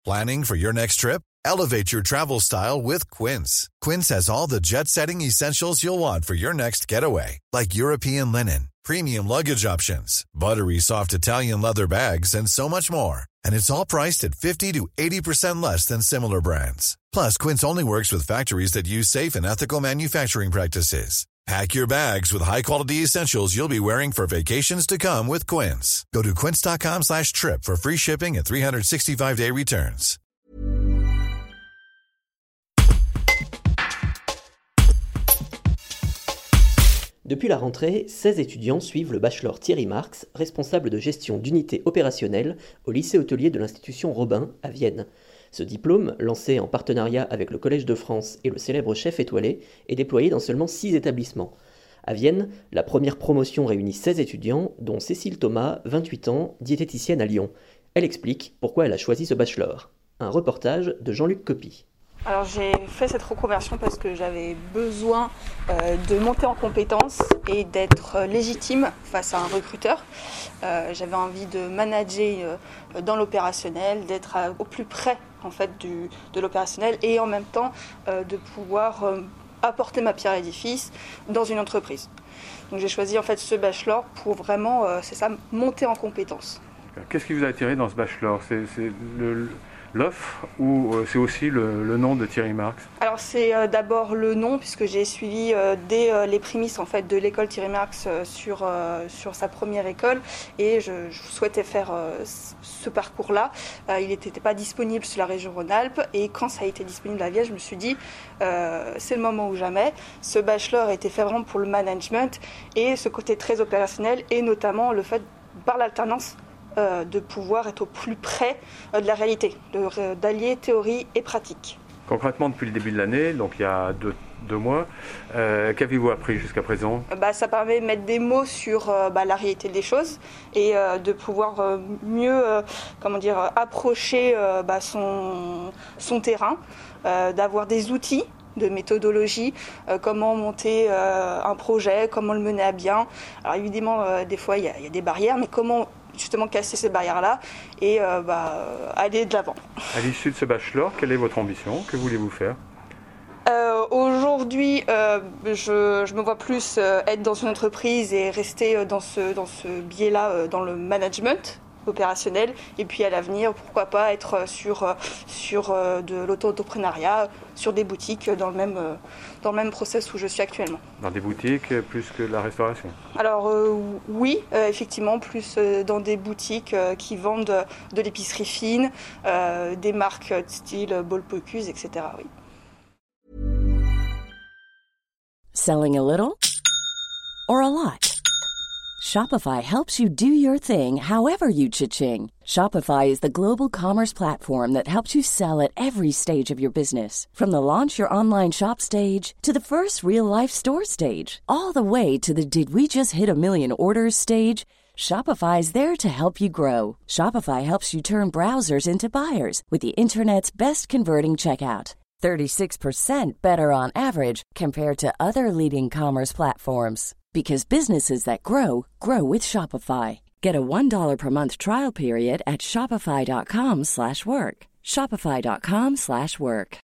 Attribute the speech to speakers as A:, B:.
A: Planning for your next trip? Elevate your travel style with Quince. Quince has all the jet-setting essentials you'll want for your next getaway, like European linen, premium luggage options, buttery soft Italian leather bags, and so much more. And it's all priced at 50 to 80% less than similar brands. Plus, Quince only works with factories that use safe and ethical manufacturing practices. Pack your bags with high-quality essentials you'll be wearing for vacations to come with Quince. Go to quince.com/trip for free shipping and 365-day returns.
B: Depuis la rentrée, 16 étudiants suivent le bachelor Thierry Marx, responsable de gestion d'unités opérationnelles au lycée hôtelier de l'institution Robin à Vienne. Ce diplôme, lancé en partenariat avec le Collège de France et le célèbre Chef étoilé, est déployé dans seulement 6 établissements. À Vienne, la première promotion réunit 16 étudiants, dont Cécile Thomas, 28 ans, diététicienne à Lyon. Elle explique pourquoi elle a choisi ce bachelor. Un reportage de Jean-Luc Copy.
C: Alors j'ai fait cette reconversion parce que j'avais besoin de monter en compétences et d'être légitime face à un recruteur. J'avais envie de manager dans l'opérationnel, d'être au plus près en fait de l'opérationnel et en même temps de pouvoir apporter ma pierre à l'édifice dans une entreprise. Donc j'ai choisi en fait ce bachelor pour vraiment, monter en compétences.
D: Qu'est-ce qui vous a attiré dans ce bachelor ? C'est l'offre ou c'est aussi le nom de Thierry Marx ?
C: Alors c'est d'abord le nom puisque j'ai suivi dès les prémices en fait de l'école Thierry Marx sur sa première école et je souhaitais faire ce parcours-là. Il n'était pas disponible sur la région Rhône-Alpes et quand ça a été disponible à Vienne, je me suis dit c'est le moment ou jamais. Ce bachelor a été fait vraiment pour le management et ce côté très opérationnel et notamment le fait par l'alternance de pouvoir être au plus près de la réalité, d'allier théorie et pratique.
D: Concrètement, depuis le début de l'année, donc il y a deux mois, qu'avez-vous appris jusqu'à présent ?
C: Ça permet de mettre des mots sur la réalité des choses et de pouvoir mieux approcher son terrain, d'avoir des outils de méthodologie, comment monter un projet, comment le mener à bien. Alors évidemment, des fois, il y a des barrières, mais comment justement casser ces barrières-là et aller de l'avant.
D: À l'issue de ce bachelor, quelle est votre ambition ? Que voulez-vous faire ?
C: Aujourd'hui, je me vois plus être dans une entreprise et rester dans ce biais-là, dans le management opérationnel, et puis à l'avenir, pourquoi pas être sur de l'auto-entrepreneuriat, sur des boutiques dans le même process où je suis actuellement.
D: Dans des boutiques plus que la restauration ? Alors
C: oui, effectivement, plus dans des boutiques qui vendent de l'épicerie fine, des marques style Bol Pocuse, etc. Oui.
E: Selling a little or a lot? Shopify helps you do your thing however you cha-ching. Shopify is the global commerce platform that helps you sell at every stage of your business. From the launch your online shop stage to the first real-life store stage, all the way to the did we just hit a million orders stage. Shopify is there to help you grow. Shopify helps you turn browsers into buyers with the internet's best converting checkout. 36% better on average compared to other leading commerce platforms. Because businesses that grow, grow with Shopify. Get a $1 per month trial period at shopify.com/work. Shopify.com/work.